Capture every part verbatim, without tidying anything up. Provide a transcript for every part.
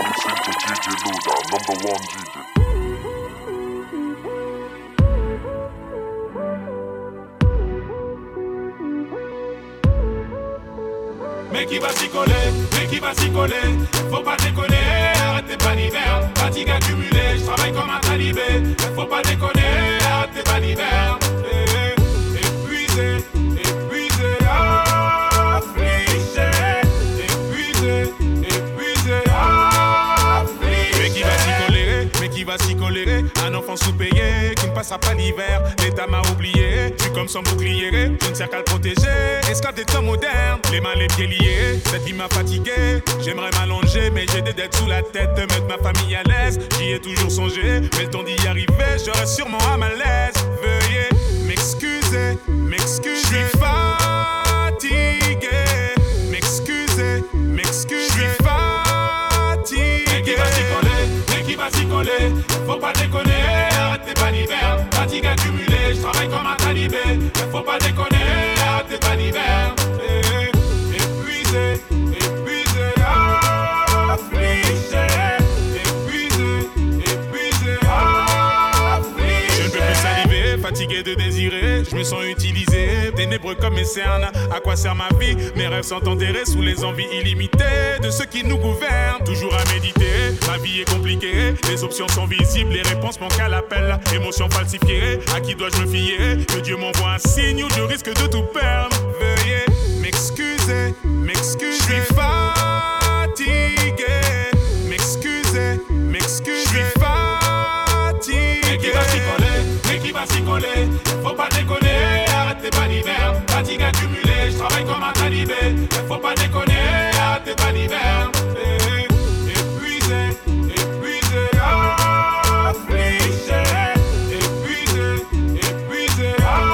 listening to D J Luda, number one D J. Mais qui va s'y coller, mais qui va s'y coller. Faut pas déconner, arrête tes balivernes. Fatigue accumulée, je travaille comme un talibé. Faut pas déconner, arrête tes balivernes. Épuisé, épuisé, affligé. Épuisé, épuisé, affligé. Mais qui va s'y coller, mais qui va s'y coller. Un enfant sous-payé qui ne passera pas l'hiver. L'État m'a oublié, je suis comme son bouclier. Je ne sers qu'à le protéger, esclave des temps modernes. Les mains, les pieds liés, cette vie m'a fatigué. J'aimerais m'allonger, mais j'ai des dettes sous la tête. De mettre ma famille à l'aise, j'y ai toujours songé. Mais le temps d'y arriver, j'aurai sûrement à ma l'aise. Veuillez m'excuser, m'excuser. Je suis fatigué. M'excuser, m'excuser. Je suis fatigué. Mais qui va s'y coller, mais qui va s'y coller. Faut pas déconner, arrête tes balivernes. Fatigue accumulée, je travaille comme un talibé. Mais faut pas déconner, arrête tes balivernes. Épuisé, épuisé, affligé. Épuisé, épuisé, affligé. Je ne peux plus saliver, fatigué de désirer. Je me sens utilisé, ténébreux comme mes cernes. À quoi sert ma vie? Mes rêves sont enterrés sous les envies illimitées de ceux qui nous gouvernent. Toujours à méditer, ma vie est compliquée. Les options sont visibles, les réponses manquent à l'appel. Émotions falsifiées, à qui dois-je me fier? Que Dieu m'envoie un signe ou je risque de tout perdre. Veuillez m'excuser, m'excuser. Je suis fatigué. M'excuser, m'excuser. Je suis fatigué. Mais qui va s'y coller, mais qui va s'y coller. Faut pas déconner, arrête tes balivernes. Fatigue accumulée, je travaille comme un talibé. Faut pas déconner, arrête tes balivernes. Épuisé, épuisé, affligé. Épuisé, épuisé,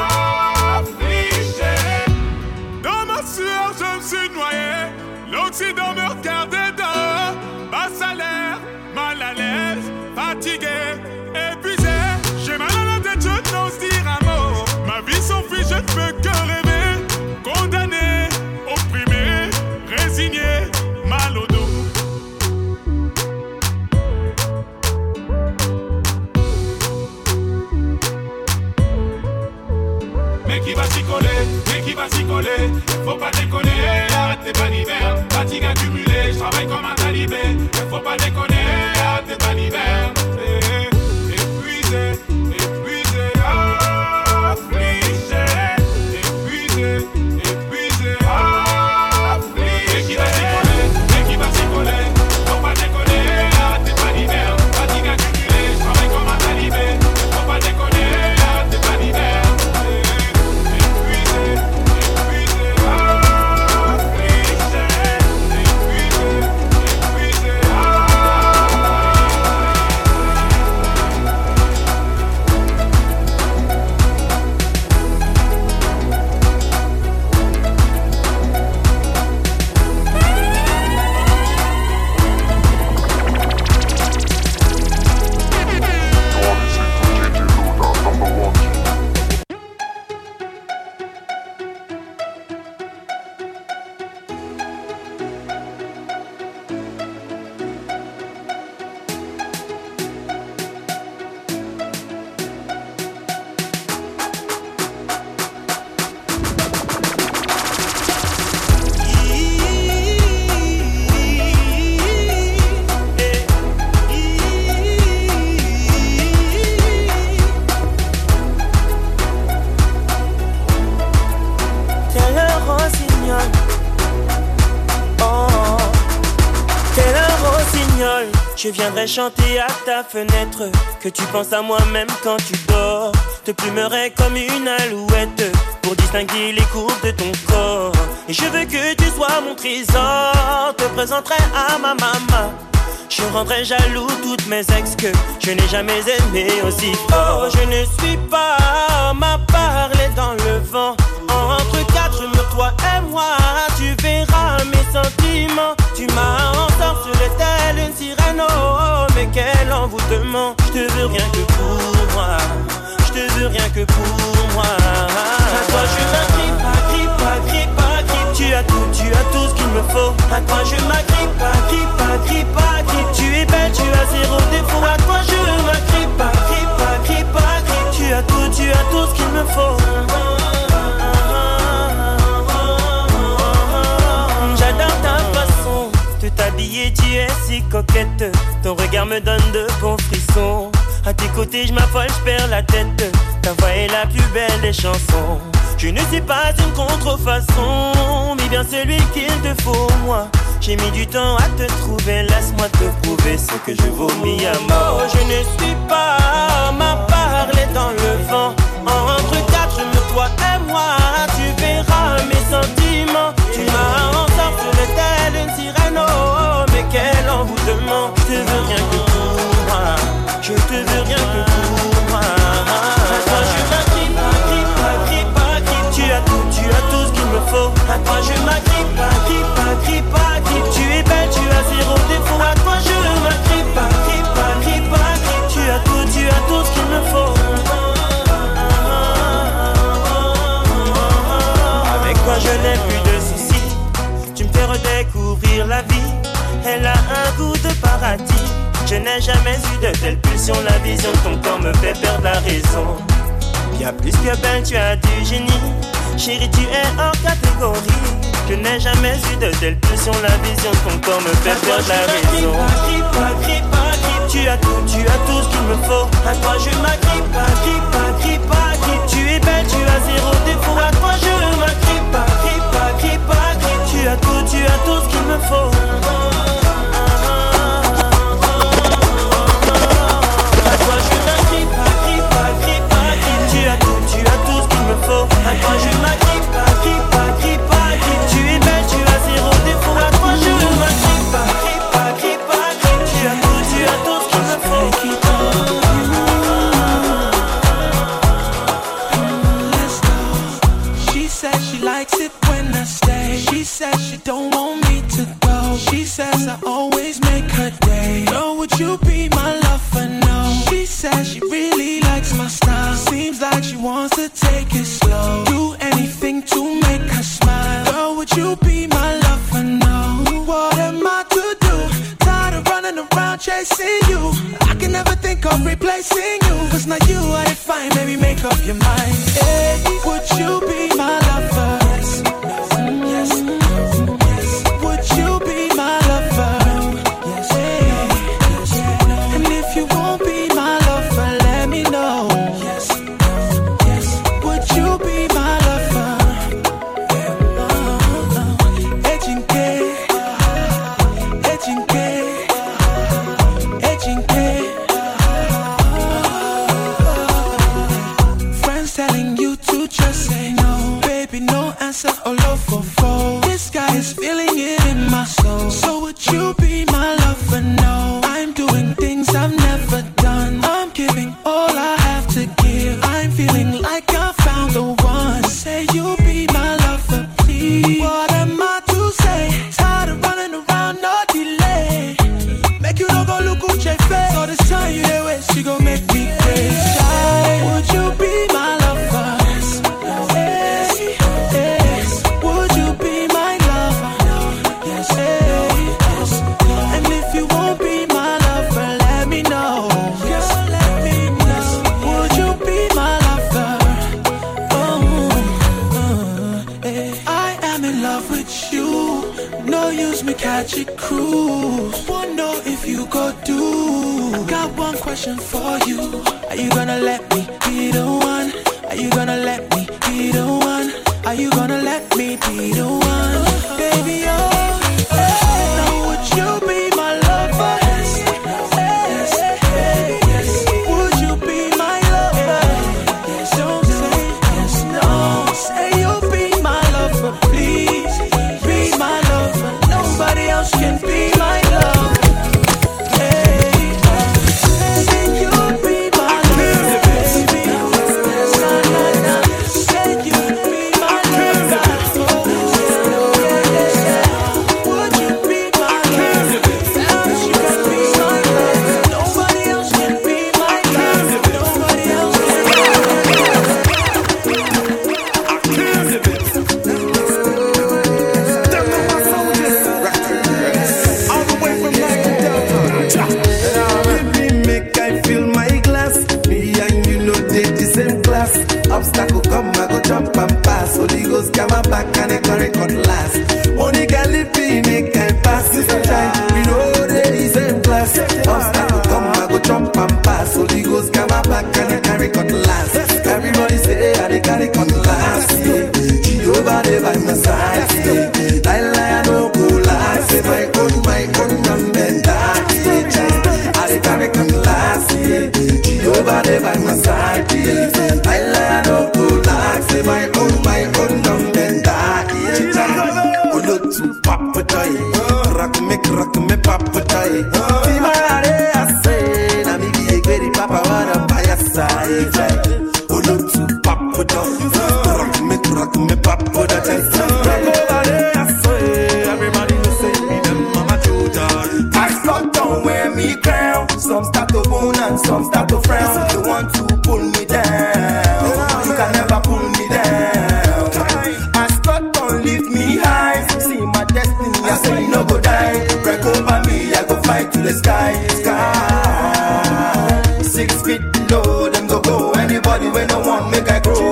affligé. Dans ma sueur, je me suis noyé. L'Occident me regardait dedans. Bas salaire, mal à l'aise, fatigué, épuisé. J'ai mal à la tête, je n'ose dire un mot. Ma vie s'enfuit, je ne peux que rêver. Condamné, opprimé, résigné, mal au dos. Mais qui va s'y coller, mais qui va s'y coller. Faut pas déconner, arrête tes balivernes. Fatigue accumulée, je travaille comme un talibé. Faut pas déconner, arrête tes balivernes. Épuisé, épuisé, affligé. Épuisé, épuisé, affligé. Mais qui va s'y coller, mais qui va s'y coller. Faut pas déconner, arrête tes balivernes. Fatigue accumulée, je travaille comme un talibé. Faut pas déconner, arrête tes balivernes. Je viendrai chanter à ta fenêtre que tu penses à moi même quand tu dors. Te plumerai comme une alouette pour distinguer les courbes de ton corps. Et je veux que tu sois mon trésor. Te présenterai à ma maman. Je rendrai jaloux toutes mes ex que je n'ai jamais aimé aussi fort. Je ne suis pas ma parler dans le vent. Entre quatre murs, toi et moi, tu verras mes sentiments. Tu m'as ensorcelé telle une sirène, oh, mais quel envoûtement. Je te veux rien que pour moi, je te veux rien que pour moi. À toi je m'agrippe, agrippe, agrippe, agrippe. Tu as tout, tu as tout ce qu'il me faut. À toi je m'agrippe, agrippe, agrippe, agrippe. Tu habillée, tu es si coquette. Ton regard me donne de bons frissons. À tes côtés, je m'affole, je perds la tête. Ta voix est la plus belle des chansons. Je ne suis pas une contrefaçon, mais bien celui qu'il te faut, moi. J'ai mis du temps à te trouver, laisse-moi te prouver ce que je vomis à mort. Je ne suis pas ma parler dans le vent. Entre quatre, toi et moi, tu verras mes sentiments. Tu m'as ensorcelé telle une sirène, oh, mais quel envoûtement. Je te veux rien que pour moi, je te veux rien que pour moi. À toi je m'agrippe, agrippe, agrippe, agrippe. Tu as tout, tu as tout ce qu'il me faut. À toi je m'agrippe, agrippe, agrippe, agrippe. Tu es belle, tu as zéro défaut. À toi je m'agrippe, agrippe, agrippe, agrippe. Tu as tout, tu as tout ce qu'il me faut. Avec toi je n'ai plus de soucis. Tu me fais redécouvrir la vie. Elle a un goût de paradis. Je n'ai jamais eu de telle pulsion. La vision de ton corps me fait perdre la raison. Bien plus que belle, tu as du génie. Chérie, tu es hors catégorie. Je n'ai jamais eu de telle pulsion. La vision de ton corps me fait perdre la raison. Agrippe, agrippe, agrippe. Tu as tout, tu as tout ce qu'il me faut. À toi je m'agrippe, agrippe, agrippe, agrippe. Tu es belle, tu as zéro défaut. À toi je m'agrippe, agrippe, agrippe, agrippe. Tu as tout, tu as tout ce qu'il me faut. À toi je m'agrippe, agrippe, agrippe, agrippe. Tu es belle, tu as zéro défaut. À toi je m'agrippe, agrippe, agrippe, agrippe. Tu as tout, tu as tout ce qu'il me faut. Let's go. She says she likes it when I stay. She says she don't want me to go. She says I always make her day. Girl, would you be my lover? No. She says she really likes my style. Seems like she wants to take it slow. Do anything to make her smile. Girl, would you be my lover? No. What am I to do? Tired of running around chasing you. I can never think of replacing you. Cause now you are defined, baby, make up your mind. Hey, would you be my lover? Yes, yes, yes. Would you be my lover? Yes, hey, yes. And if you won't be my lover, let me know. Yes, yes. Would you be my lover? Edging gay, edging gay, edging gay. Friends telling you to just say no. Baby, no answer, all over four. This guy is feeling it in my soul. So would you be my lover? No, I'm doing things I've never done. I'm giving all I have to give. I'm feeling like I found the one. Say you'll be my lover, please. What am I to say? Tired of running around, no delay. Make you don't go look at your face. All this time you there waste, you gon' make me crazy. Would you be my lover? Yes, yes. Would you be my lover? Yes, yes. And if you won't be my lover, let me know. Yes, let me know. Would you be my lover? Oh, uh, eh. I am in love with you. No use me catch a cruise. Wonder if you go do. I got one question for you. Are you gonna let me be the one? Are you gonna let me be the one? Are you gonna let me be the one? Baby, oh, hey. Now would you be my lover? Yes, hey, yes. Would you be my lover? Yes, don't say yes, no. Say you'll be my lover, please. Be my lover. Nobody else can be my love. Hey, say you'll be my lover, baby. Na, na, na. Say you'll be my lover. the sky, sky. Six feet low, them go go. Anybody when no one make I grow.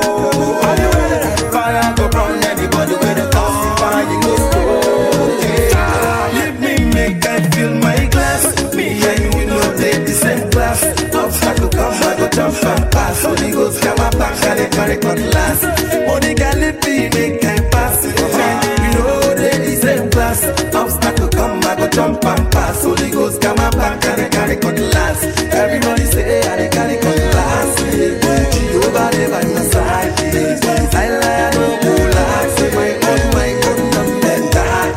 Fire go run, anybody when the toxic fire go slow. Let me make I fill my glass. Me and you know they the same class. Obstacle come, I go jump and pass. Holy Ghost come up back and they carry cutlass. Only gallopy make I pass. You know they the same class. Obstacle come, I go jump and pass. Holy Ghost come up back and they carry cutlass. Everybody say I they carry cutlass. Jehovah they by my side. I lie no cool like say my own my own number and die.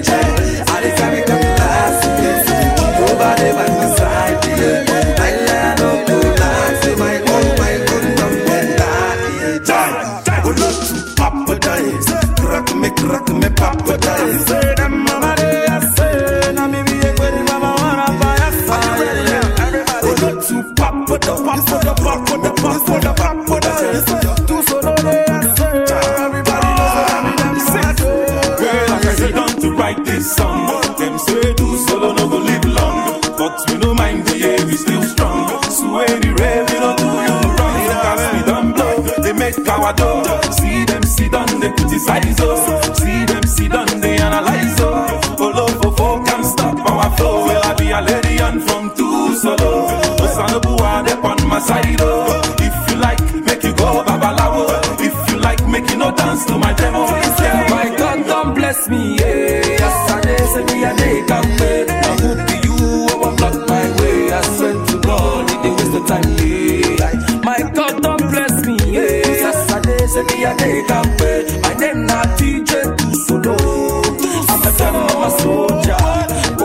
I they carry cutlass. Jehovah they by my side. I lie no cool like say my own my own number and die. Go look to Papa dies. Crack me crack me Papa dies. Say them mama they a say na me be a good mama wanna buy a fire. Go look to Papa the Papa the Papa the Papa the Papa dies. Two solo they a say everybody knows I'm in them sick. Girl, I sit down to write this song. Them say do solo no go live long, but we no mind the yeah we still strong. So any rave we don't do you wrong. Cause we don't blow, they make our door. See them sit down, they criticize us. See them sit down, they analyze us. All over folk can stop our flow. Well, I be a lady and from two solo. But son of boy, they on my side. Oh. If you like, make you go babalawo. If you like, make you no dance to my demo. Yeah, my God, don't bless me. Yeah, yes, I did say me a day can wait. Now who be you? Overblock my way. I swear to God, it ain't waste of time. Yeah, my God, don't bless me. Yeah, yes, I did say me a day can wait. My name not T J two solo. I'm a them, I'm a soldier. Oh,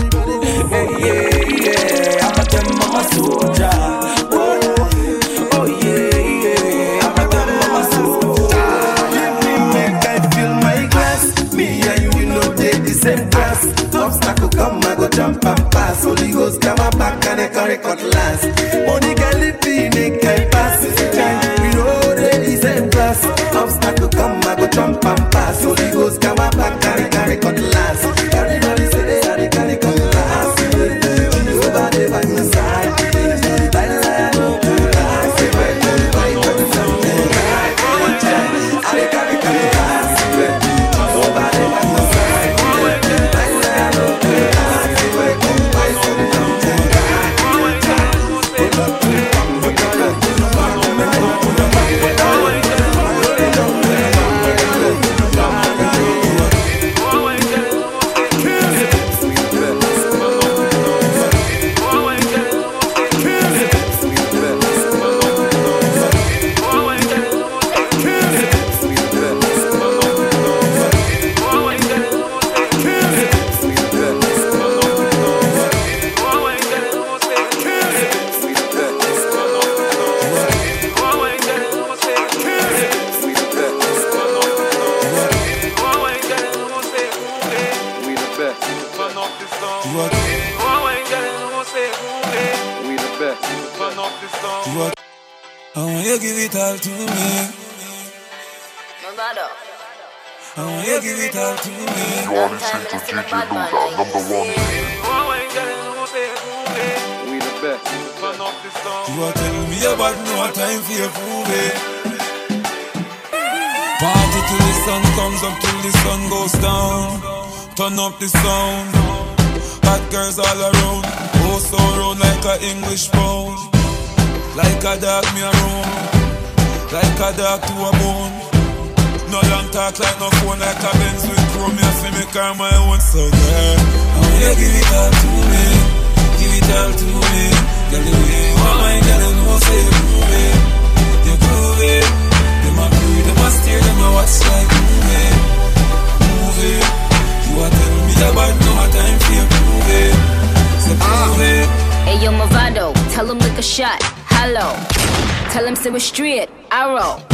hey, yeah, yeah. I'm a them, I'm a soldier. Oh, oh yeah, yeah. I'm a them, I'm a soldier. Let me make I fill my glass. Me and you, we know they the same class. Obstacle come, I go jump and pass. Holy Ghost come up back and I carry cutlass. Only gallopy make I pass. We know they the same class. Obstacle come, I go jump and pass. Holy Ghost come up back and I carry cutlass. Everybody say they are the carry cutlass. Nobody by my side. I no cool like say my own my own something. I carry cutlass. Nobody by my side. I no cool like say my own my own something. I want you give it all to me. I want you give it all to me. You are listening to D J Luda, number one. We the best. You are telling me about no time for your prove it. Party till the sun comes up, till the sun goes down. Turn up the sound. Hot girls all around. Oh, so round like a English pound. Like a dog me a roam. Like a dog to a bone. No long talk like no phone. Like a Benz with chrome. Me a fi me car my own. So girl, I want you give it all to me. Give it all to me. Girl, the way you want my girl, you know say you prove it. You prove it. Them a prove, them a steer, them a watch like movie. Movie. You a tell me about no time for you prove it. Say prove it. Hey yo Movado, tell him lick a shot. Hello. Tell him sit with straight. Arrow.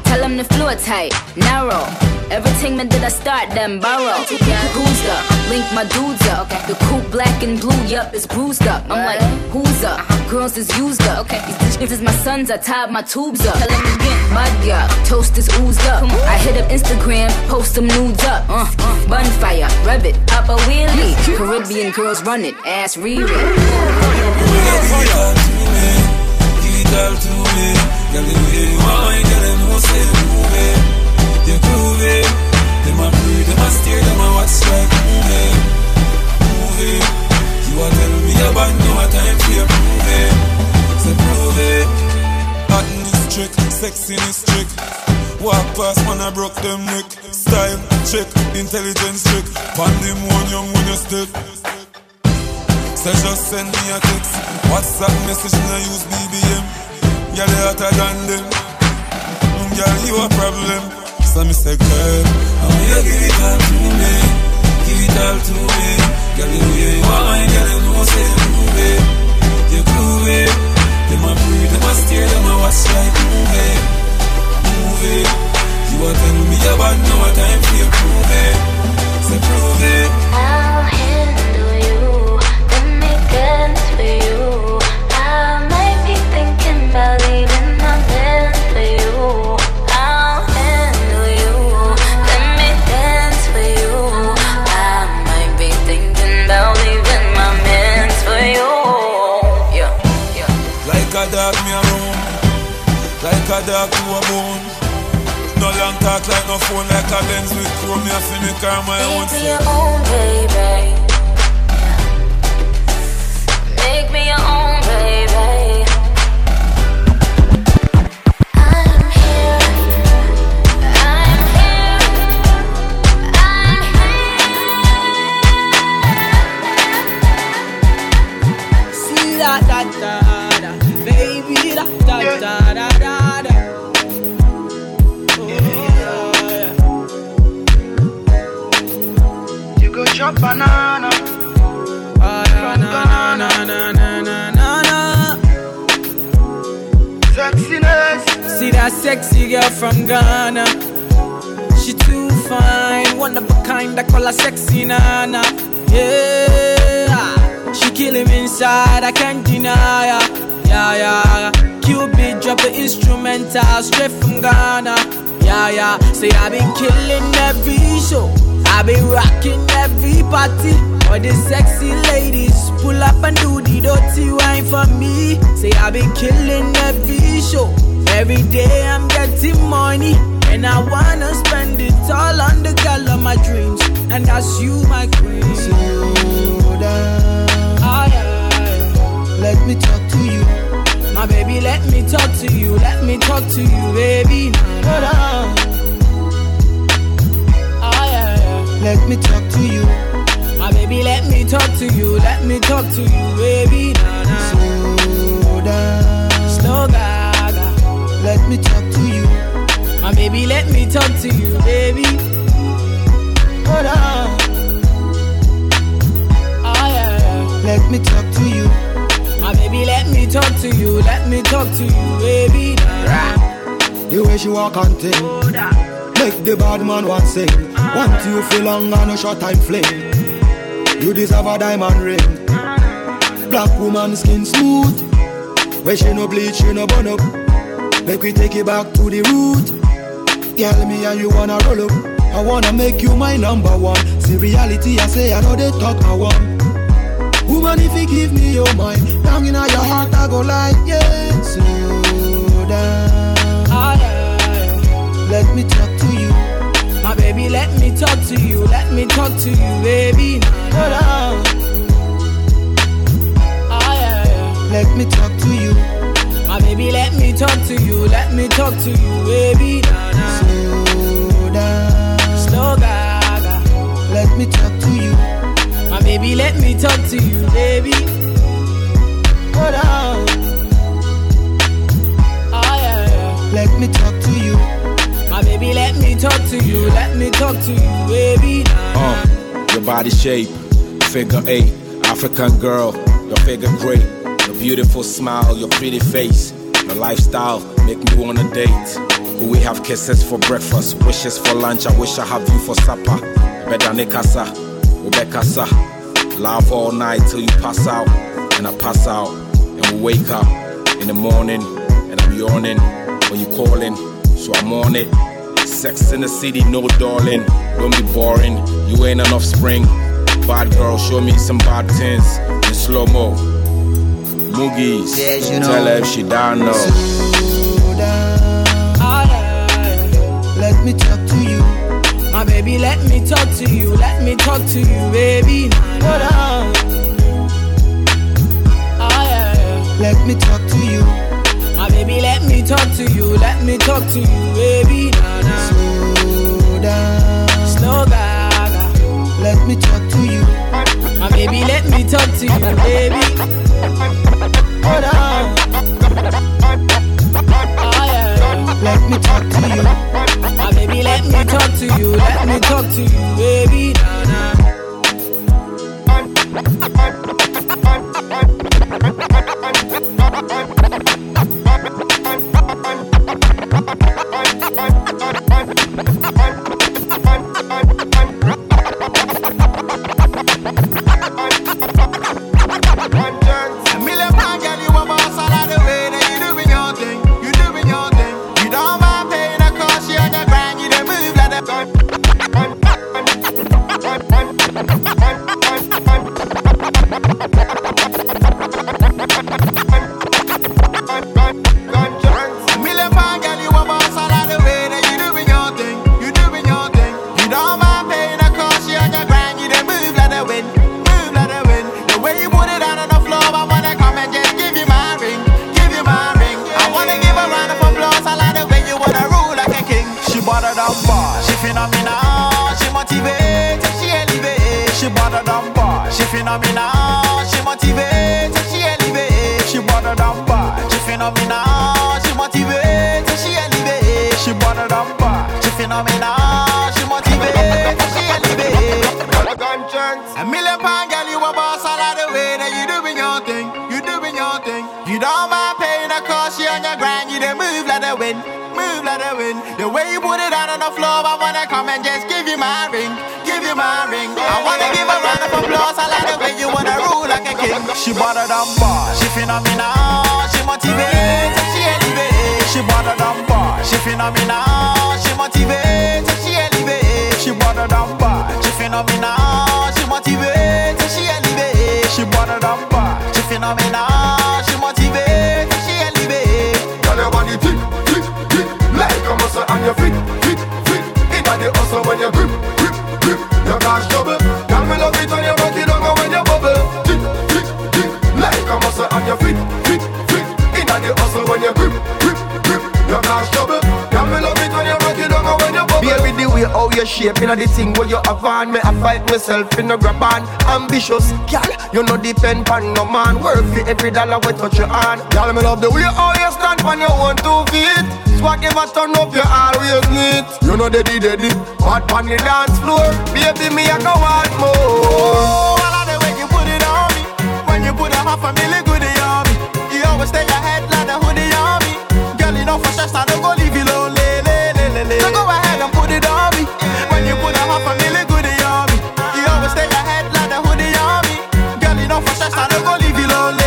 Tell them the floor tight, narrow. Everything man did I start them borrow. Who's up? Link my dudes up. The coupe black and blue, yup, it's bruised up. I'm like, who's up? Girls is used up. These bitches is my sons, I tied my tubes up. Tell them again, mud up, toast is oozed up. I hit up Instagram, post them nudes up. Uh, uh, Bonfire, rev it, pop a wheelie. Caribbean girls run it, ass read it. Give it all to me, give it all to me. Girl, the way you want, girl, I know say move it. You prove it. Them a breathe, them a stare, them a watch like move it, move it. You a tell me about no time for you prove it. So prove it. Acting is trick, sexy is trick. Walk past man I broke them neck. Style check, intelligence check. Pandemonium young when you step. So just send me a text. WhatsApp message and I use B B M. Girl, you hotter than them. Girl, you a problem. So me say, girl, I want you give it all to me. Give it all to me. Girl, you know you want, girl, you know say move it. You prove it. Them a breathe, them a stare, them a watch like move it, move it. You a tell me about no time for you prove it. So prove it. I'll handle you. Let me dance for you. I might be thinking about leaving my man for you. I'll handle you. Let me dance for you. I might be thinking about leaving my man for you. Yeah, yeah. Like a dog me a roam, like a dog to a bone. No long talk like no phone, like a Benz with chrome. Me a fi me car my own. Make me your own, baby. Make me your own, baby. I'm here. I'm here. I'm here. See that, that, that, that, baby, that, that, that, that, that, that. Chop banana, oh, yeah, na, na, na, na, na, na, na. sexiness. See that sexy girl from Ghana. She too fine, one of a kind. I call her sexy nana. Yeah, she kill him inside. I can't deny her. Yeah, yeah. Cupid drop the instrumental straight from Ghana. Yeah, yeah. Say I been killing every show. I be rocking every party. All the sexy ladies pull up and do the dirty wine for me. Say I be killing every show. Every day I'm getting money, and I wanna spend it all on the girl of my dreams, and that's you, my queen. Slow down. Ah, yeah. Let me talk to you. My baby, let me talk to you. Let me talk to you, baby. Slow down. Let me talk to you. My baby, let me talk to you. Let me talk to you, baby. Nah, nah. Slow down. Slow gaga. Let me talk to you. My baby, let me talk to you, baby. Hold on. Oh, yeah, yeah. Let me talk to you. My baby, let me talk to you. Let me talk to you, baby. Nah, nah. The way she walk and ting. Oh, that. Make the bad man want sing. Want you feel long and a short time fling. You deserve a diamond ring. Black woman skin smooth. Where she no bleach, she no burn up. Make we take it back to the root. Tell me how you wanna roll up. I wanna make you my number one. See reality, I say I know they talk I want. Woman, if you give me your mind, down in your heart I go like, yeah. Slow down. Oh, yeah, yeah. Let me talk to you. My baby, let me talk to you. Let me talk to you, baby. Nah, nah. Oh, yeah, yeah. Let me talk to you. My baby, let me talk to you. Let me talk to you, baby. Nah, nah. Slow down. Slow gaga. Let me talk to you. My baby, let me talk to you, baby. Hold on. Oh, yeah, yeah. Let me talk to you. My baby, let me talk to you. Let me talk to you, baby. Nah, nah. Uh, your body shape, figure eight, African girl, your figure great, your beautiful smile, your pretty face, your lifestyle make me wanna date. We have kisses for breakfast, wishes for lunch. I wish I have you for supper. Bedane kasa, ube kasa. Laugh all night till you pass out, and I pass out, and we wake up in the morning, and I'm yawning when you calling, so I'm on it. Sex in the city, no darling. Don't be boring, you ain't an offspring. Bad girl, show me some bad things in slow mo. Moogies, yes, you know. Tell her if she down now. Slow down. Let me talk to you. My baby, let me talk to you. Let me talk to you, baby. Nah, nah. Oh, yeah. Let me talk to you. My baby, let me talk to you. Let me talk to you, baby. Nah, nah. Slow down. Slow down. Let me talk to you. My baby, let me talk to you, baby. Hold on. Oh, yeah. Let me talk to you. My baby, let me talk to you. Let me talk to you, baby. Nah, nah. She better than bad, she phenomenal, she motivates, she elevates. She better than bad, she phenomenal, she motivates, she elevates. She better than bad, she phenomenal, she motivates, she elevates. She better than bad, she phenomenal, she motivates, she elevates. Girl, your body tick, tick, tick, like a muscle on your feet, feet, feet. Inna the hustle when you grip, grip, grip. Your cash double. Girl, me love it when you rock it down and when you bubble. Tick, tick, tick, like a muscle on your feet, feet, feet. Inna the hustle when you grip, grip, grip. Your cash double. Girl, me love it when you rock it down and when you bubble. Baby, the way how you shape inna the thing where you have on, me I fight myself in the grab on. Ambitious, girl, you no depend on no man. Worth it every dollar we touch your hand. Girl, me love the way how you stand on your own two feet. Swag never turn up, you always neat. You know the D D D, hot on the dance floor. Baby, me I go want more. Oh, I like the way you put it on me. When you put a half a million goodie on me, you always stay ahead like the hoodie on me. Girl, you know for sure I don't go leave you lonely. So go ahead and put it on me. When you put a half a million goodie on me, you always stay ahead like the hoodie on me. Girl, you know for sure I don't go leave you lonely.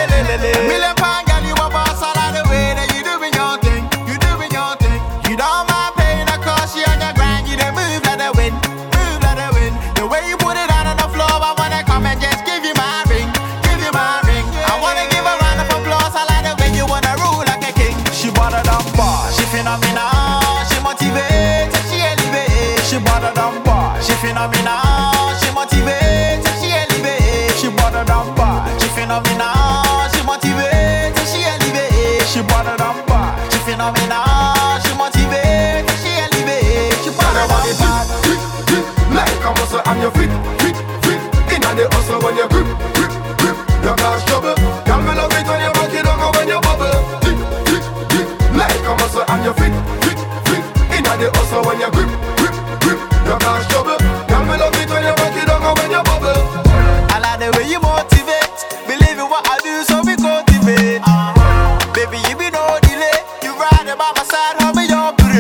Million pound girl, you a boss. I like the way that you doing your thing. You doing your thing. You don't mind paying the cost. You on your grind. You don't move like the wind. Move like the wind. The way you put it out on the floor, I wanna come and just give you my ring. Give you my ring. I wanna give a round of applause. I like the way you wanna rule like a king. She better than bad, she phenomenal, she motivates, she elevates. She better than bad, she phenomenal, she motivates, she elevates. She better than bad, she phenomenal, she motivates, she elevates. She better than bad, she phenomenal, she motivates, she elevates. She better than bad. Tick, tick, like a muscle on your feet, feet, feet. Inna the hustle when you grip, grip, grip. Your cash trouble. Girl, me love it when you rock it down and when you bubble. Tick, tick, tick, like a muscle on your feet, feet, feet. Inna the hustle when you grip, grip, grip. Your cash trouble. Girl, me love it when you rock it down and when you bubble. I like the way you motivate. Believe in what I do, so we cultivate. Baby, you be no delay. You ride by my side, hold me your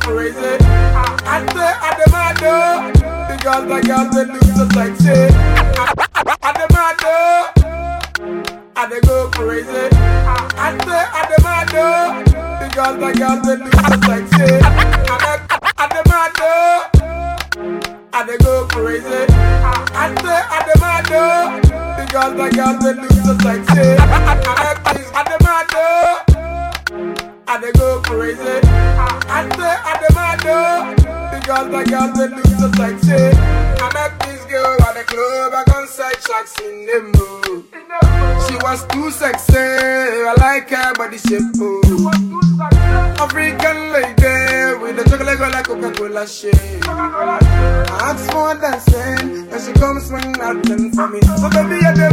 crazy. I say I demand though. The girls, the girls, they look so sexy. I demand though. I they go crazy. I say I demand though. The girls, the girls, they look so sexy. I demand though. I they go crazy. I say I demand though. The girls, the girls, they look so sexy. I demand though. I they go crazy. I say I demand though. The girls, the girls, they look so sexy. I met this girl at the club. I got side shots in the mood. She was too sexy. I like her body shape. African lady with a chocolate girl like Coca-Cola shake. I ask for dancing and she comes swing nothing for me. So baby, I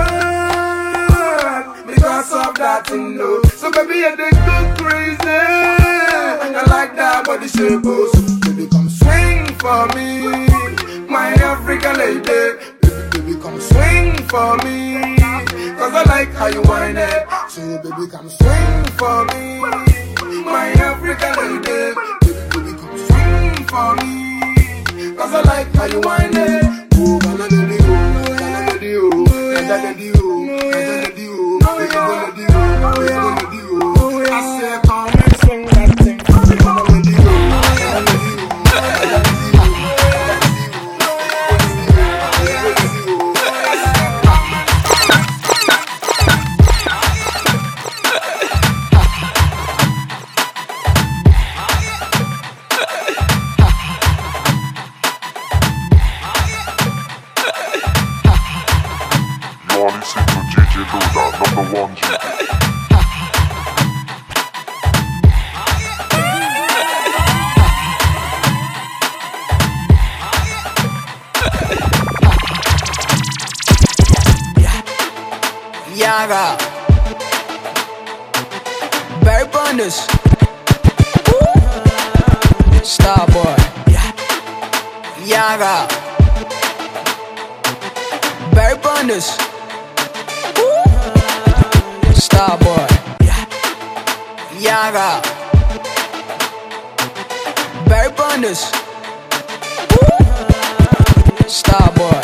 demand because of that you know. So baby, I go crazy. I like that body shape. So baby, come swing for me, my African lady. Baby, baby, come swing for me, cause I like how you whine it. So baby, come swing for me, my African lady. Baby, baby, come swing for me, cause I like how you whine it. Oh, gonna do the oh, gonna do the oh, gonna do the oh, gonna do the oh, gonna do the oh, gonna do the oh. I say come and swing that thing, gonna do the oh, gonna do the oh. Number one, G D. Yaga Barry Bonders Starboy Yaga Barry Bonders Starboy Yaga Barry Bonders Starboy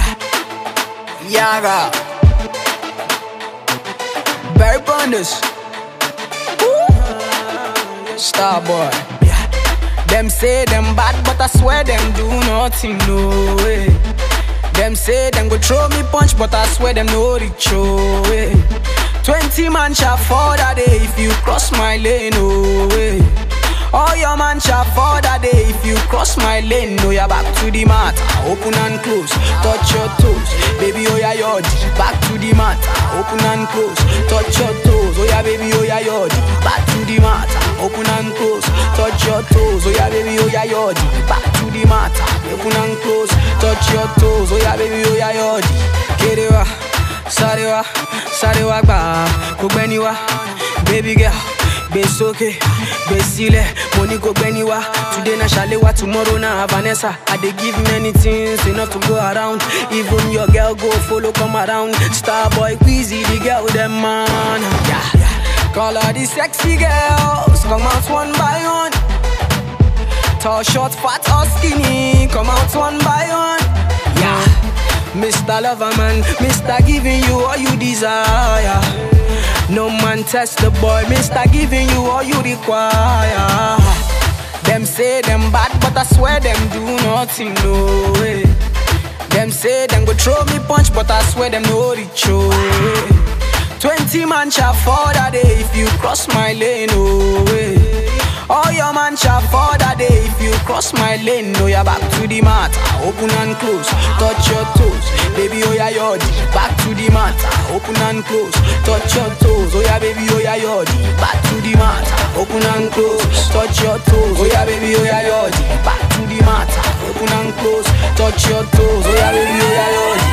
Yaga Barry Bonders Starboy Them say them bad but I swear them do nothing, no way. Them say them go throw me punch but I swear them no reach, oh way. Twenty man shall fall that day if you cross my lane, oh way. All your man shall fall that day if you cross my lane. No, you're back to the mat, open and close, touch your toes, baby, oh yeah, yod. Back to the mat, open and close, touch your toes, oh yeah, baby, oh yeah, yod. Back to the mat, open and close, touch your toes, oh yeah, baby, oh yeah, yod. Back to the mat, open and close, touch your toes, oh yeah, baby, oh yeah, yod. Kerewa, sarewa, sarewa ba, kugbeniwa, baby girl. Besoke, besile, money go beniwa. Today na Shalewa, tomorrow na Vanessa. I dey give many things enough to go around. Even your girl go follow come around. Starboy, Queasy, the girl them man. Yeah, yeah. Call all the sexy girls, come out one by one. Tall, short, fat or skinny, come out one by one. Yeah, Mister Loverman, Mister giving you all you desire. No man test the boy, Mister giving you all you require. Them say them bad, but I swear them do nothing, no way. Them say them go throw me punch, but I swear them no reach, oh way. Twenty man shall fall that day if you cross my lane, oh way. All your man shall fall that day if you cross my lane. No, you're back to the mat, open and close, touch your toes, baby, oh yeah, yod. Back to the mat, open and close, touch your toes, oh yeah, baby, oh yeah, yod. Back to the mat, open and close, touch your toes, oh yeah, baby, oh yeah, yod. Back to the mat, open and close, touch your toes, oh yeah, baby, oh yeah, yod.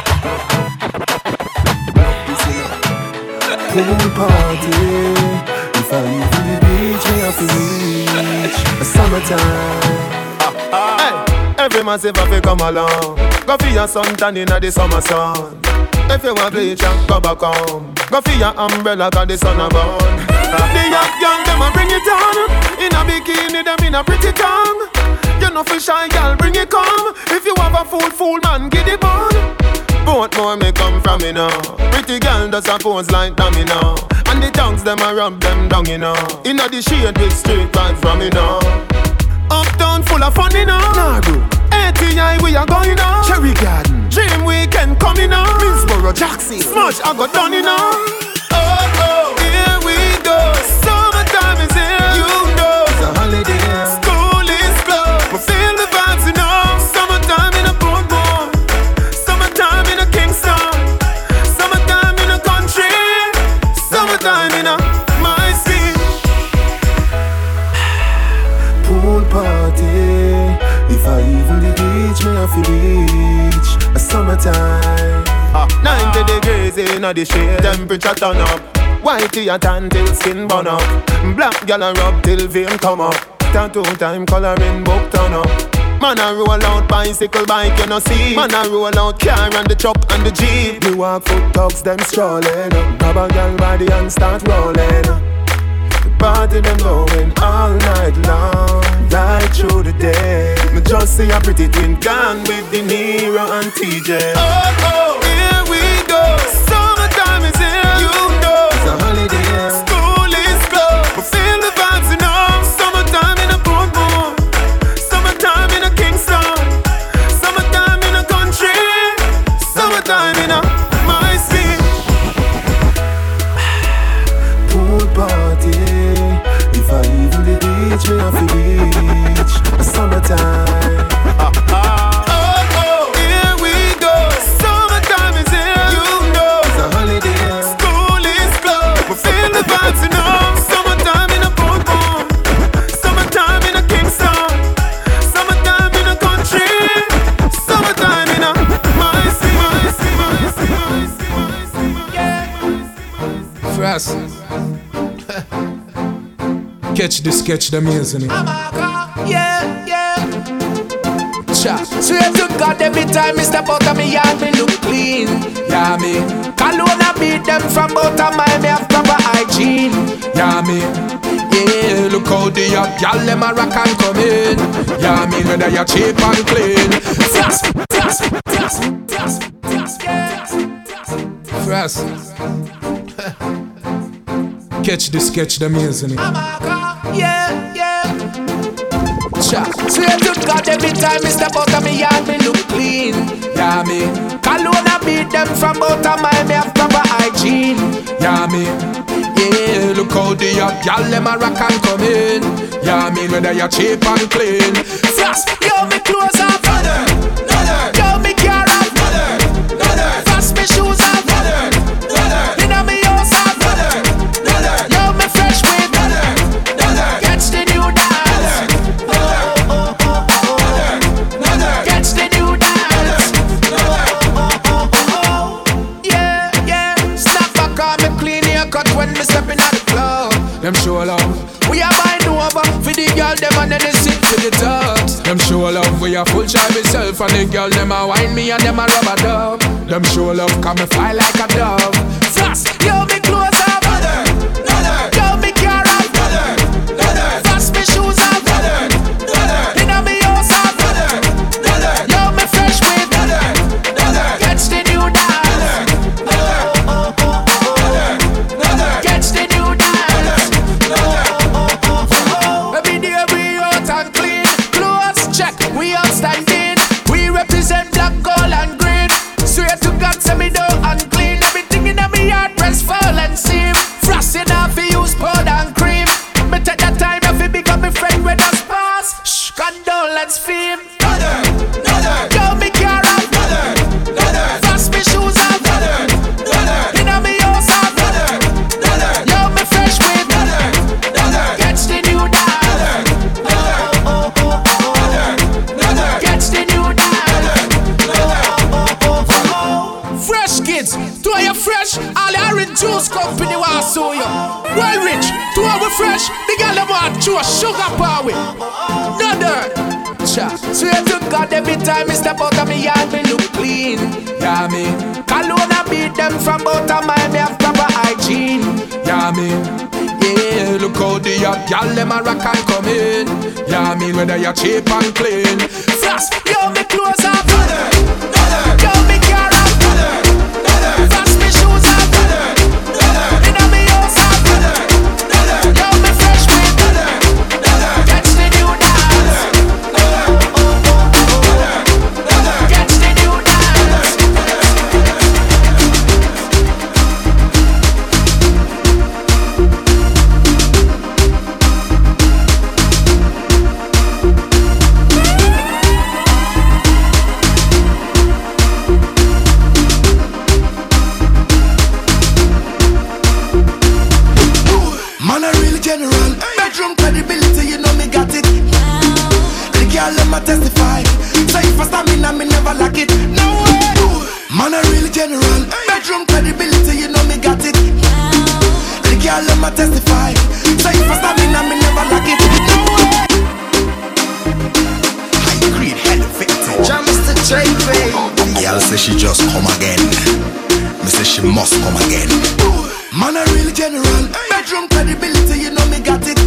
Pool party, If I even the beach, me have to reach a summertime. Hey, every man say fi come along. Go for your suntan inna the summer sun. If you want bleach, go back home. Go for your umbrella 'cause the sun a burn. The young young them a bring it on. In a bikini, them in a pretty tongue. You know fi shy girl, bring it come. If you have a fool, fool man, get it on. Both more may come from me now. Pretty girl does a pose like dummy now. And the tongues them a rub them down, you know. Inna the shade with straight vibes from me now. Uptown full of fun, you know. Nah, bro. A T I we are going now. Cherry Garden, Dream Weekend coming now. Middlesboro, Jackson, Smudge I got done, you know. Oh oh, here we go. Summertime is here, you know. It's a holiday. School is closed, we feel the vibes, you know. Summertime in a Portmore, summertime in a Kingston, summertime in a country, summertime in a my city. Pool party. If I even the beach, me have to reach a summertime. Ah, ninety degrees in the shade, temperature turn up. Whitey a tan till skin burn up. Black gal a rub till vein come up. Tattoo time coloring book turn up. Man a roll out bicycle bike, you know see. Man a roll out car and the truck and the jeep. Me walk foot dogs, them strolling. Grab a gal body and start rolling. The party them going all night long, right through the day. Me just see a pretty twin gone with De Niro and T J. Oh oh, here we go. Summertime is here, you know. It's a holiday. School is closed, we feel the vibes, you know. Summertime in a Portmore, summertime in a Kingston, summertime in a country, summertime in a my city. Pool party. If I even the beach, me have to reach a summertime. Ah, ah. Oh oh, here we go. Summertime is here, you know. It's a holiday. School is closed, we feel the vibes, you know. Summertime in a Portmore, summertime in a Kingston, summertime in a country, summertime in a my city, my city, my city, my city, my city, my city. Frost. Catch the sketch, the amazing. Yeah, yeah. Cha. Swear to God, every time I step out of me yard, me look clean. Yeah, me. Cologne I beat them from out of my me have proper hygiene. Yeah, me. Yeah, look how the young gal them a rock and come in. Yeah, me, whether you cheap and clean. Frost, frost, frost, frost, frost, yeah. Frost. Catch the sketch, the amazing. Yeah, yeah. Cha. Swear to God, every time I step out of me yard, me look clean. Yeah, me. Cologne I beat them from out of my me have proper hygiene. Yeah, me. Yeah, look how the young gal them a rock and come in. Yeah, me, whether you cheap and clean. Frost, yo, me clothes off. Yo, me car off. Frost, me shoes off. Inna me house off. Yo, me fresh with. Catch the new dance. Catch the new dance. Yeah, yeah. Snap back on me clean haircut when me stepping out the club. Them show love. We are buying over for the girl them and then they sit to the tugs. Them show love. We are full try myself and the girl them a wine me and them a rub a dub. Them show love. Come me fly like a dove. Frost, yo, me clothes off. Yo, me car off. Frost, me shoes off. Inna me house off. Yo, me fresh with. Catch the new dance. Catch the new dance. Every day we out and clean. Clothes check, we outstanding. We represent black, gold and green. Swear to God, say me down and clean. Everything in me yard press fall and seam. Frosting off, we use powder and cream. Me take that time if it become a friend with us pass. Shh, condolence fame. Yo, me car off. Frost, me shoes off. Inna me house off. Yo, me fresh with. Catch the new dance. Catch the new dance. Fresh kids, to you fresh. All the orange juice company want sue you. Well rich, to know we fresh. The girl them want chew a sugar power. No dirt. Cha. Swear to God, every time I step out of me yard, me look clean. Yeah, me. Cologne I beat them from out of my me have proper hygiene. Yeah, me. Yeah, look how the young gal them a rock and come in. Yeah, me whether you cheap and clean. Frost, yo me clothes off. Yo me car off. Frost me shoes off. Inna me house off. Yo me fresh with. Catch the new dance. Catch the new dance. Man a real general, bedroom credibility, you know me got it. The girl let me testify, say if I stamina me never lack it. No way. Man a real general, bedroom credibility, you know me got it. The girl let me testify, say if I stamina me never lack it. No way. High grade elevated, jam Mister J P. Girl say she just come again. Me say she must come again. Man a real general, bedroom credibility, you know me got it.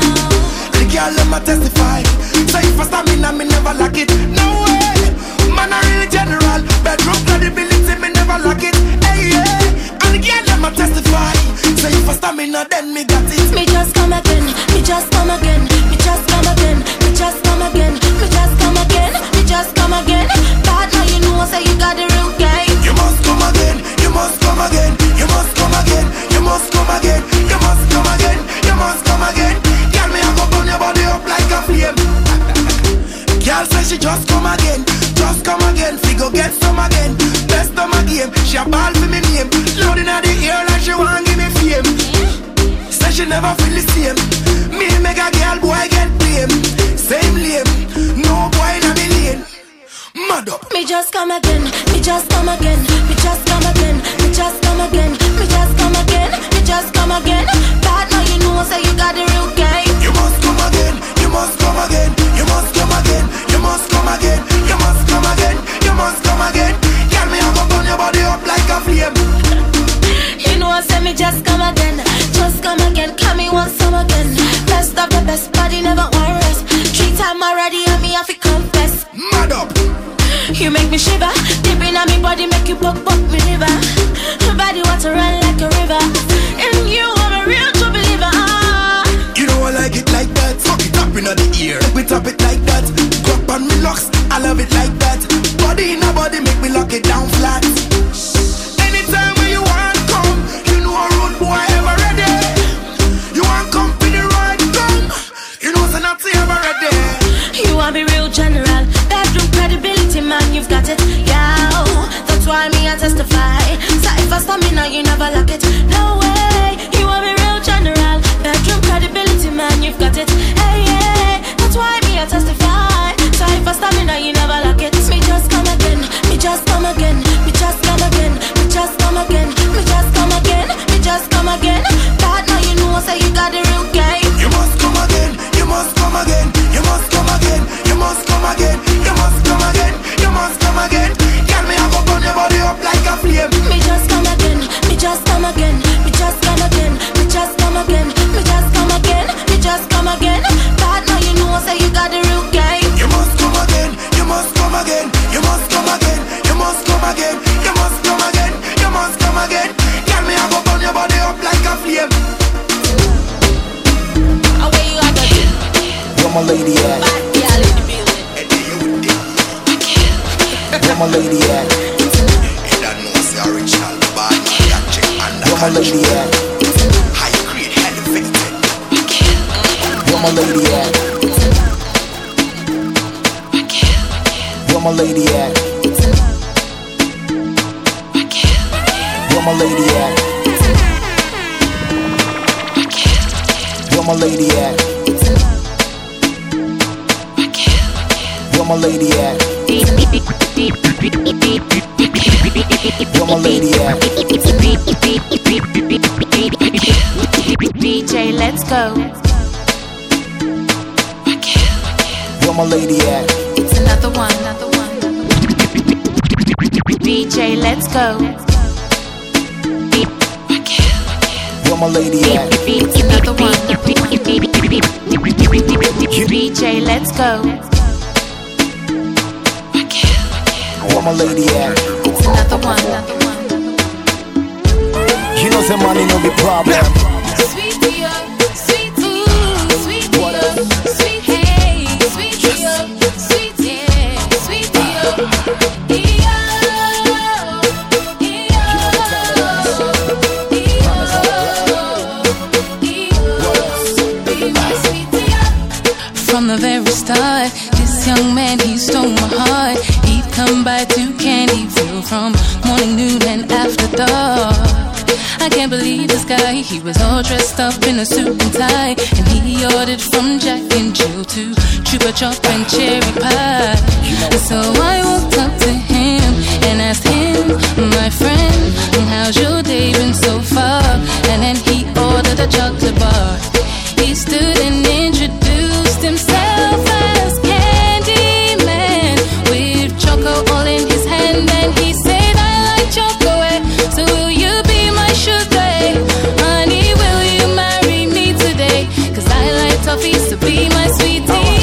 The girl let me testify, say if I stamina me never lack it. No way. Man a real general, bedroom credibility, me never lack it. Hey yeah, and the girl let me testify, say if I stamina then me got it. Me just come again, me just come again, me just come again, me just come again, me just come again, me just come again. Bad now you know say you got the real game. You must come again, you must come again, you must come again, you must come again, you must come again, you must come again. Girl, me a go burn your body up like a flame. Girl say she just come again, just come again, fi go get some again. Best of my game, she a ball for me name. Loading at the ear like she want give me fame. Say she never feel the same. Me make a girl boy get blame. Same lame, no boy in a million. Mad up. Me just come again, me just come again, me just come again, me just come again, me just come again, me just come again. Bad now you know say you got the real game. You must come again, you must come again, you must come again, you must come again, you must come again, you must come again. Girl, me a go burn your body up like a flame. You know I say me just come again, just come again, come me once some again. Best of the best, body never want rest. Three time already and me have to confess. Mad up. You make me shiver, deep in me body make you buck buck me liver. My body want to run like a river, and you are a real true believer. Ah. You know I like it like that. Fuck it up in the ear, we top it like that. Drop on me locks, I love it like that. Body in a body make me lock it down flat. Anytime when you want come, you know a road boy ever ready. You want come for the ride come, you know it's not ever ready. You want be real general, bedroom credibility man, you've got it. Yeah, that's why me I testify. So if I stamina, you never lack it. No way, you want be real general, bedroom credibility man, you've got it. Hey yeah, that's why me I testify. So if I stamina, you never lack it. Me just come again, me just come again, me just come again, me just come again, me just come again, me just come again. Bad now you know say you got the real game. You must come again, you must come again, you must come again, you must come again, you must come again, you must come again. Girl, me a go burn your body up like a flame. Me just come again, me just come again, me just come again, me just come again, me just come again, me just come again. Bad now you know say you got the real game. You must come again, you must come again, you must come again, you must come again, you must come again, you must come again. Girl, me a go burn your body up like a flame. Away you are going. Where my lady at? Yeah, in the building. Where my lady at? You don't know it's the original bad man that check and Where my lady at? high grade elevated. Where my lady at? Where my lady at? Where my lady at? Where my lady at? Where my lady at? Where my lady at? J, let's go. Where my lady at? It's another one, another one. B J, let's go. Where my lady at? It's another one. B J, let's go. Where my lady at? It's another one, another one. You know some money no be problem. Sweet dear, sweet dear, sweet dear, sweet hey, sweet dear, sweet dear, sweet dear. From the very start, this young man, he stole my heart. He'd come by to Candyville from morning, noon, and after dark. I can't believe this guy, he was all dressed up in a suit and tie. And he ordered from Jack and Jill to Chupa Chop and cherry pie. And so I walked up to him and asked him, my friend, how's your day been so far? And then he ordered a chocolate bar. He stood and introduced himself as Candyman, with choco all in his hand. And he said, I like chocolate, so will you be my sugar? Honey, will you marry me today? Cause I like toffees, so be my sweetie.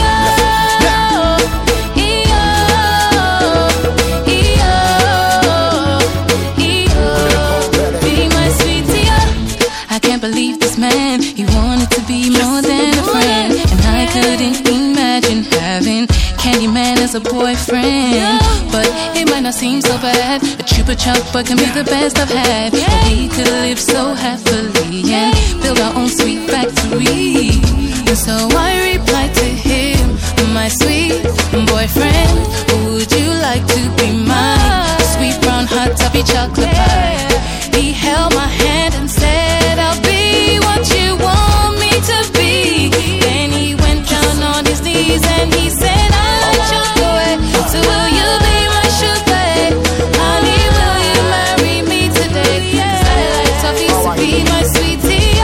I can't believe this man, he wanted to be more than a friend. And I couldn't imagine having Candyman as a boyfriend. But it might not seem so bad, a Chupa Chupa can be the best I've had. But we could live so happily and build our own sweet factory. And so I replied to him, my sweet boyfriend, would you like to be mine? Sweet brown hot toffee chocolate pie. He held my hand and said, I'll be what you want me to be. Then he went down on his knees and he said, I like chocolate, so will you be my sugar? Honey, will you marry me today? Cause I like toffee, so be my sweetie.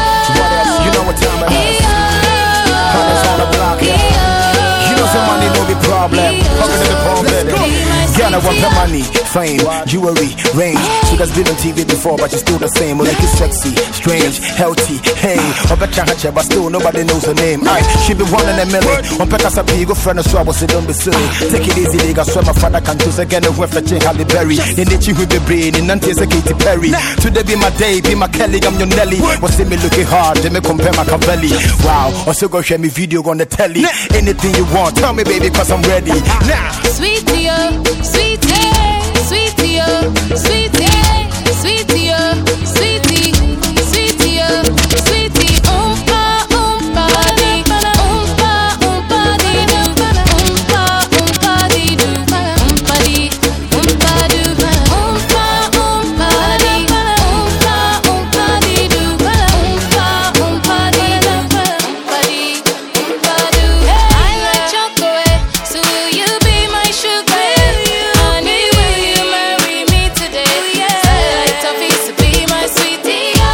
Oh, you know what time it is. Hunters on the block, yeah. You know some money no be problem. Fucking in the palm, baby. Girl, I want the money, fame, jewelry, range. She has been on T V before, but she's still the same. Well, like it's sexy, strange, healthy, hey. I bet you had but still nobody knows her name. Aye, she be one in a million. On Pekasa P, go friend, so I was say don't be silly. Take it easy, nigga. So my father can choose again and went for Jane Halle Berry. In the chief with the brain, in Nantes, a Katy Perry. Today be my day, be my Kelly, I'm your Nelly. Was see me looking hard, they me compare my Cavelli. Wow, also go share me video on the telly. Anything you want, tell me, baby, cause I'm ready. Now, sweet dear, sweet dear, sweet dear, sweet dear, sweet dear, sweet dear, sweet dear, sweet dear. Oompa, oompa, dee, oompa, oompa, dee, doo, oompa, oompa, dee, doo, oompa, dee, oompa, doo, oompa, oompa, dee, oompa, oompa, dee, doo, oompa, oompa, dee, doo, oompa, dee, oompa, doo. I like chocolate, so will you be my sugar? Honey, will you marry me today? Cause I like toffee, so be my sweetie. Oh,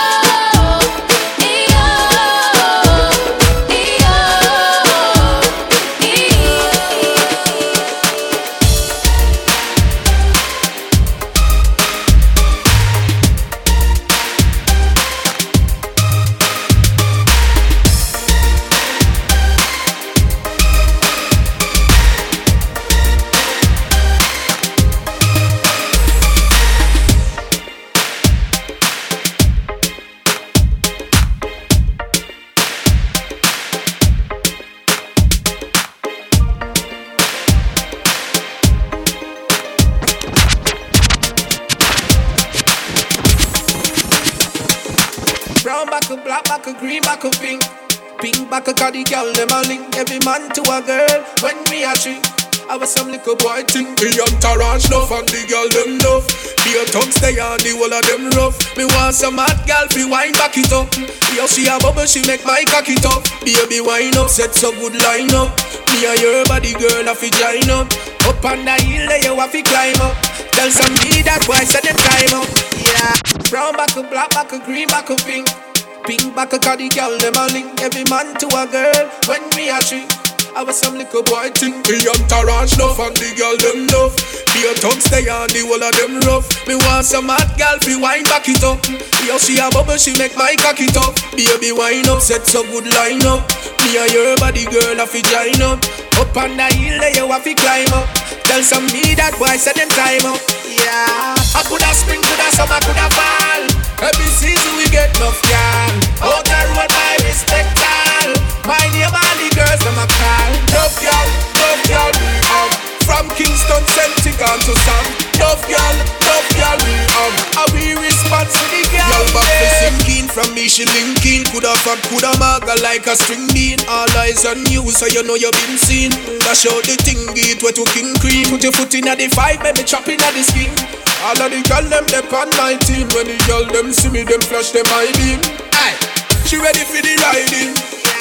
ee, oh, ee, oh, ee, Brown back a black back a green back a pink. Pink back a cause the girl them a link. Every man to a girl when me a drink. I was some little boy think the entourage enough and the girl them love. The tongues stay on the whole of them rough. Me want some hot girl fi wine back it up. Yo she a bubble she make my cock it up. Baby wine up set so good line up. Me and your body girl a fi join up. Up on the hill there you a fi climb up. Tell some me that boy set them time up. Yeah. Brown back a black back a green back a pink. Pink back a the girl, them a link every man to a girl. When we a tree, I was some little boy thing. The entourage love and the girl them love. The tongue stay on the wall of them rough. Me want some hot girl fi wine back it up. Yo she a bubble, she make my cock it up. Baby wine up, set so good line up. Me and your body girl a fi join up. Up on the hill there you a fi climb up. Tell some me that boy say them time up. Yeah, I coulda spring, coulda summer, coulda fall. Every season we get enough girl. Out the road I respect all. My name all the girls them a call. Love girl, love girl, we um. From Kingston, Celtic on to Sam. Love girl, love girl, we um. How we respond to the girl. Y'all back to sinking from me, she linking. Coulda fat, coulda maga like a string bean. All eyes on you, so you know you been seen. Dash out the thing, it where to king cream. Put your foot in at the five, baby, chop in at the skin. All of the girl them dep on my team. When the girl them see me, them flash them eye beam. Aye, she ready for the riding.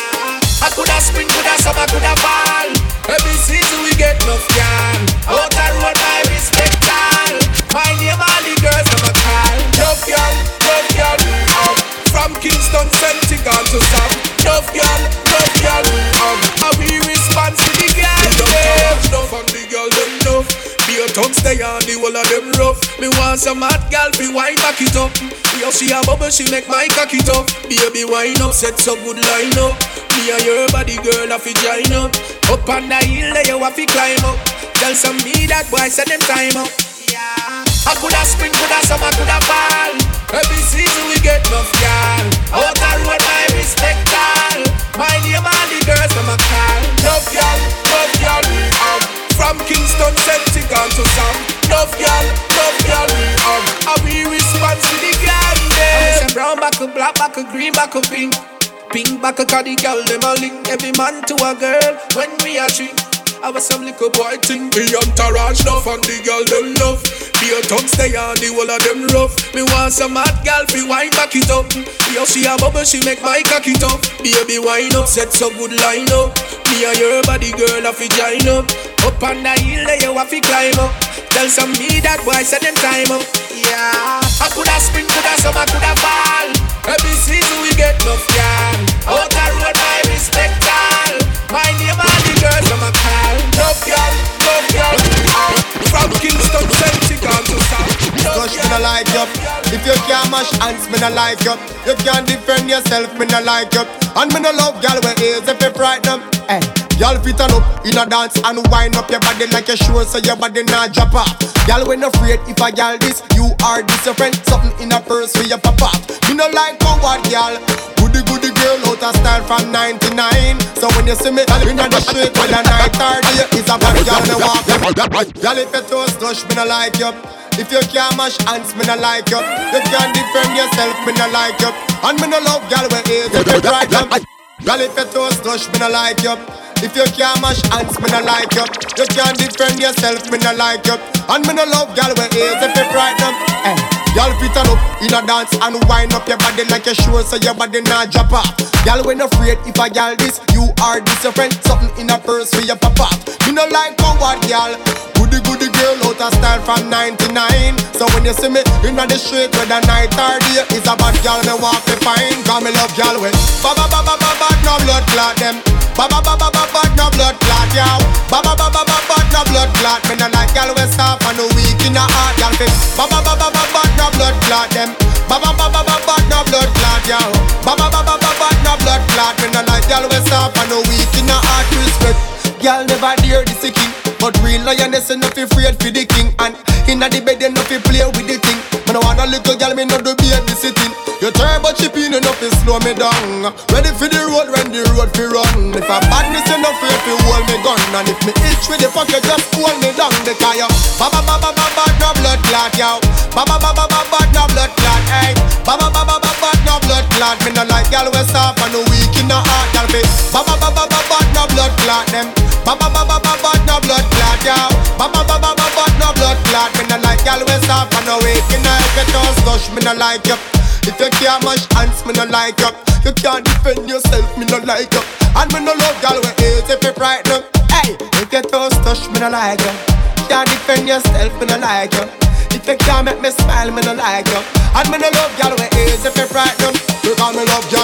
I coulda spring, coulda summer, coulda fall. Every season we get enough girl. Out the road I respect all. My name all the girls them a call. Love girl, love girl, um. From Kingston, Celtic on to Sam. Love girl, love girl, um. How we respond to the girl. The entourage love and the girl them love. Your tongue stay on the wall of them rough. Me want some hot girl fi wine back it up. Yo she a bubble, she make my cock it up. Baby wine up, set so good line up. Me and your body girl a fi join up. Up on the hill there you a fi climb up. Tell some me that boy say them time up. Yeah, I coulda spring, coulda summer, coulda fall. Every season we get enough girl. Out the road I respect all. My name all the girls them a call. Love girl, love girl, um. From Kingston, Celtic on to Sam. Love girl, love girl, um. How we respond to the girl them. I'm brown back a black back a green back a pink. Pink back a the girl them a link every man to a girl. When we a tree, I was some little boy thing. The entourage love and the girl them love. The tongue stay on the wall of them rough. Me want some hot girl fi wine back it up. Yo she a bubble, she make my cock it up. Baby wine up, set so good line up. Me and your body girl a fi join up. Up on the hill there you a fi climb up. Tell some me that boy say them time up. Yeah, I coulda spring, coulda summer, coulda fall. Every season we get enough girl. Out the road I respect all. My name all the girls I'm a call. Love girl, love girl, um. From Kingston, Celtic on to South. Cause me no like you. If you can't mash hands, me no like you. You can't defend yourself, me no like you. And me no love girl with ears if you frighten them. Hey, y'all fit on up in a dance and wind up your body like a sure so your body not drop off. Y'all when afraid if I y'all this, you are this your friend. Something in a purse for your papa. Me no like coward y'all. Goody goody girl out of style from ninety-nine. So when you see me in the street when the night or day, it's a bad girl me walk. Y'all if you toast touch, me no like you. If you can't mash hands, me no like you. You can't defend yourself, me no like you. And me no love y'all with ears if you try them. Y'all if you toast touch, me no like you. If you can't mash hands, me no like you. You can't defend yourself, me no like you. And me no love y'all with ears if you try them. Hey, y'all fit on up in a dance and wind up your body like a sure so your body not drop off. Y'all when afraid if I y'all this, you are this your friend. Something in a purse for your papa. Me no like coward y'all. Goody goody girl out of style from ninety-nine. So when you see me in the street where the night or day, it's a bad girl me walk me fine. Cause me love y'all with ba ba ba ba ba ba no blood clot them. Ba ba ba ba ba ba no blood clot y'all. Ba ba ba ba ba ba no blood clot. Me no like y'all with soft and no weak in the heart y'all fit. Ba ba ba ba ba ba no blood clot them. Ba ba ba ba ba ba no blood clot y'all. Ba ba ba ba ba ba no blood clot. Me no like y'all with soft and no weak in the heart. Respect. Y'all never dare this king, but real lioness enough afraid for the king. And inna the bed enough fi play with the thing. Me no want a little girl, me no do baby sitting. You turbo chipping enough fi slow me down. Ready for the road when the road fi run. If a badness enough afraid fi hold me gun. And if me itch with the fuck you just hold me down. The car you ba ba ba ba ba ba no blood clot yow. Ba ba ba ba ba ba no blood clot hey. Ba ba ba ba ba ba no blood clot. Me no like y'all we soft and no weak in the heart y'all fi. Ba ba ba ba ba ba no blood clot them. Ba ba ba ba ba ba no blood clot yow. Ba ba ba ba ba ba no blood clot. Me no like y'all we soft and no weak in the heart. If you don't gush, me no like you. If you can't mash hands, me no like you. You can't defend yourself, me no like you. And me no love y'all with hate if you frighten them. Hey, if you don't touch, me no like you. Can't defend yourself, me no like you. If you can't make me smile, me no like you. And me no love y'all with hate if you frighten them. Because me love y'all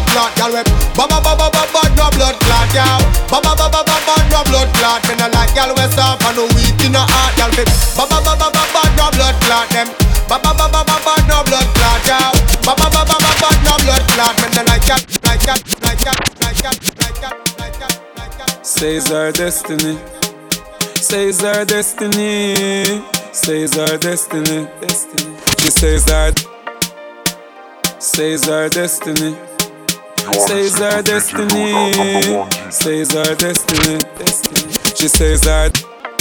clot, girl with ba ba ba ba ba ba no blood clot, girl. Ba ba ba ba ba ba no blood clot. Me no like girl with soft and no weak in the heart, girl with ba ba ba ba ba ba no blood clot them. Ba ba ba ba ba ba no blood clot, girl. Ba ba ba ba ba ba no blood clot. Me no like that, like that, like that, like that, like that, like that, like that. Says our destiny. Says our destiny. Says our destiny. Destiny. She says our. Says our destiny. Says our destiny. Says our destiny. Destiny. She says our.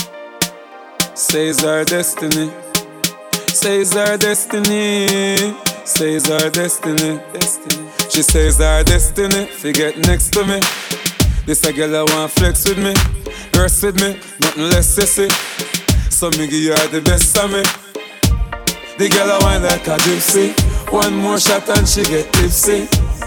Says our destiny. Says our destiny. Says our destiny. Destiny. She says our destiny. Forget next to me. This a girl I want flex with me, verse with me, nothing less sissy. So me give her the best of me. The girl I want like a gypsy. One more shot and she get tipsy.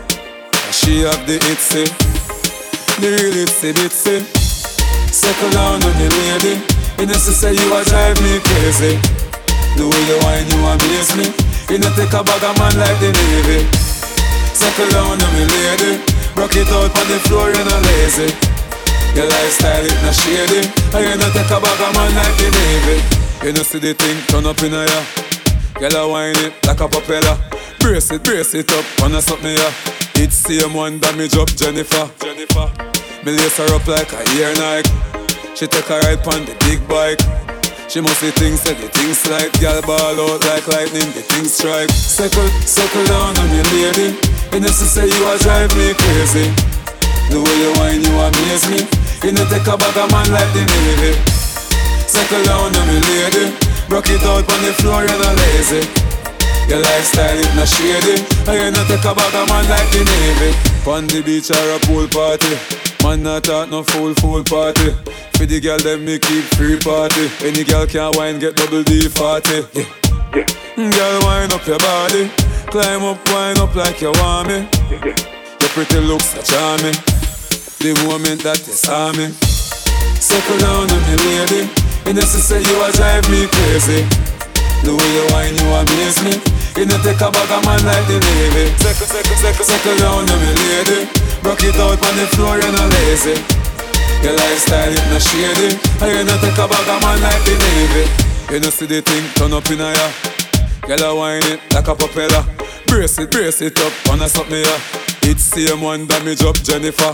She have the itsy, the real itsy bitsy. Settle down on the lady. You know she say you a drive me crazy. The way you whine you amaze me. You know take a bag of man like the Navy. Settle down on me lady. Rock it out on the floor, you're not lazy. Your lifestyle it not shady. And you not take a bag of man like the Navy. You know see the thing turn up in a ya. Girl a whine it like a propeller. Brace it, brace it up, wanna suck me ya. It's same one damage up Jennifer. Jennifer. Me lace her up like a ear Nike. She take a ride on the big bike. She must see things, say the things like girl ball out like lightning, the things strike. Circle, circle down on me lady. You know she say you a drive me crazy. The way you whine you amaze me. You know take a bag of man like the Navy. Circle down on me lady. Rock it out on the floor, you're not lazy. Your lifestyle it not shady. And you know take a bag of man like the Navy. On the beach or a pool party. Man not talk no fool fool party. For the girl them me keep free party. Any girl can wine get double D forty. Yeah, yeah. Girl wine up your body. Climb up, wine up like you want me. Your pretty looks are charming. The moment that you saw me. Circle down on me lady. You know she say you a drive me crazy. The way you whine you amaze me. You know take a bag of man like the Navy. Circle, circle, circle, circle down on me lady. Rock it out on the floor, you're not lazy. Your lifestyle it not shady. And you know take a bag of man like the Navy. You know see the thing turn up in a ya. Girl a whine it like a propeller. Brace it, brace it up, wanna suck me ya. It's same one damage up Jennifer.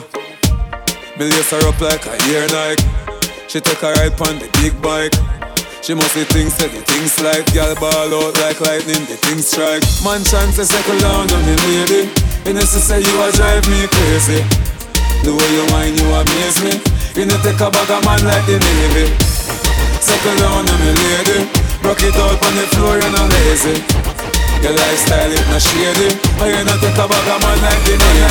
Me lace her up like a ear Nike. She take a ride on the big bike. She must see things, say the things like girl ball out like lightning, the things strike. Man chance to settle down on me lady. You know she say you a drive me crazy. The way you whine you amaze me. You know take a bag of man like the Navy. Settle down on me lady. Rock it out on the floor, you're not lazy. Your lifestyle it not shady. And you know take a bag of man like the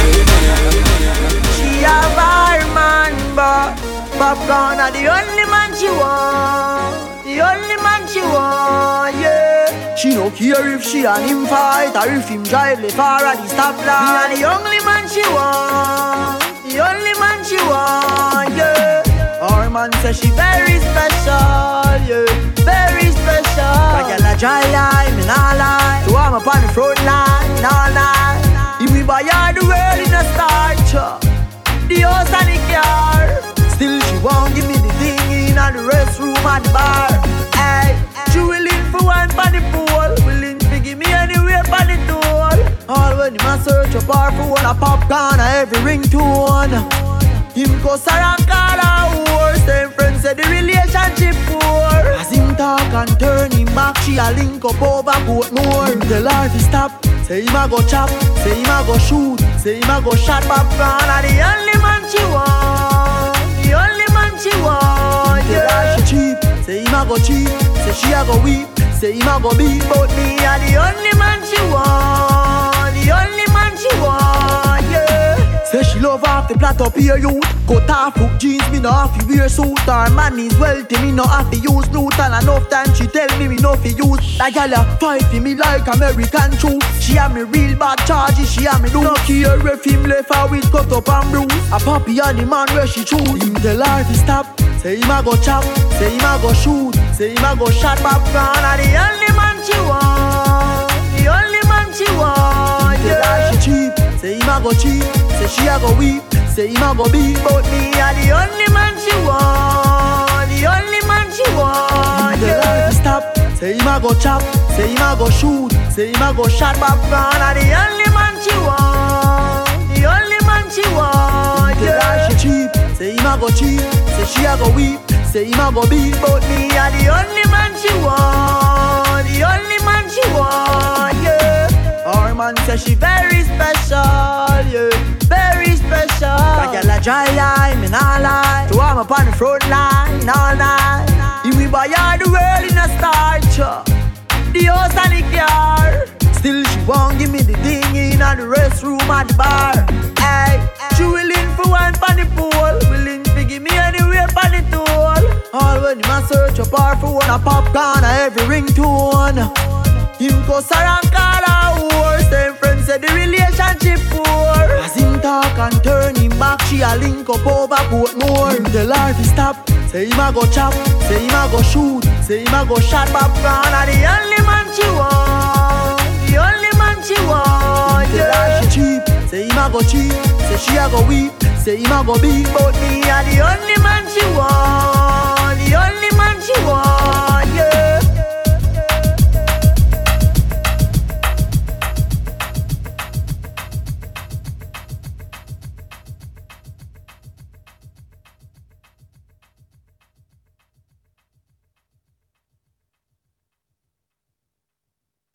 Navy. She a bar man, but Popcorn are the only man she want. The only man she want, yeah. She no care if she and him fight or if him drive le far at the stoplight. Me and the only man she want. The only man she want, yeah. Our man says she very special, yeah. Very special. Like a dry line, me nah lie. So I'm up on the front line, all night. If we buy her the world in a start, the house and the car. Still she won't give me the thing in the restroom at the bar. Hey, she willing for one for the pool, willing to give me anywhere for the tool. All when him a search up her phone, a popcorn, a every ringtone. Him go around call her whore. Same friends say the relationship poor. As him talk and turn him back, she a link up over Portmore. Him tell her to stop, say him a go chop, say him a go shoot, say him a go shot popcorn. And the only man she want, the only man she want, yeah. Tell her she cheap, say him a go cheap, say she a go weep, say him a go beat. But me a the only man she want, the only man she want, yeah. Say she love off the plot up here youth. Cut off hook jeans, me no have to wear suit. Her man is wealthy, me no have to use loot. And enough time she tell me me no fi use. That gal a fight for me like American truth. She have me real bad charges, she have me do. No care if him left her with cut up and bruise. A puppy and the man where she choose. Him tell her to stop, say him a go chop, say him a go shoot, say him a go shot popcorn. And the only man she want, the only man she want, yeah. Tell her she cheap, say him a go go cheat, say she a go weep, say him a go beat, but me a the only man she want, the only man she want. Tell her to stop, say him a go chop, say him a go shoot, say him a go shot popcorn. A the only man she want, the only man she want. Tell her she cheap, say him a go cheat, say she a go weep, say him a go beat, but me a the only man she want, the only man she want. Yeah. Our man say she very special, yeah, very special. That girl a dry line, me nah lie. So I'm up on the front line all night. If we buy her the world in a starch, the house and the car. Still she won't give me the thing in the restroom at the bar. Hey, she willing for one for the pool, willing to give me anywhere for the tool. All when you must search up her for one a popcorn a every ringtone. Him cuss her and call her whore. Same friends say the relationship poor. As him talk and turn him back, she a link up over Portmore. Him tell her to stop, say him a go chop, say him a go shoot, say him a go shot popcorn. A the only man she want, the only man she want. Him tell her she cheap, say him a go cheat, say she a go weep, say him a go beat, but me a the only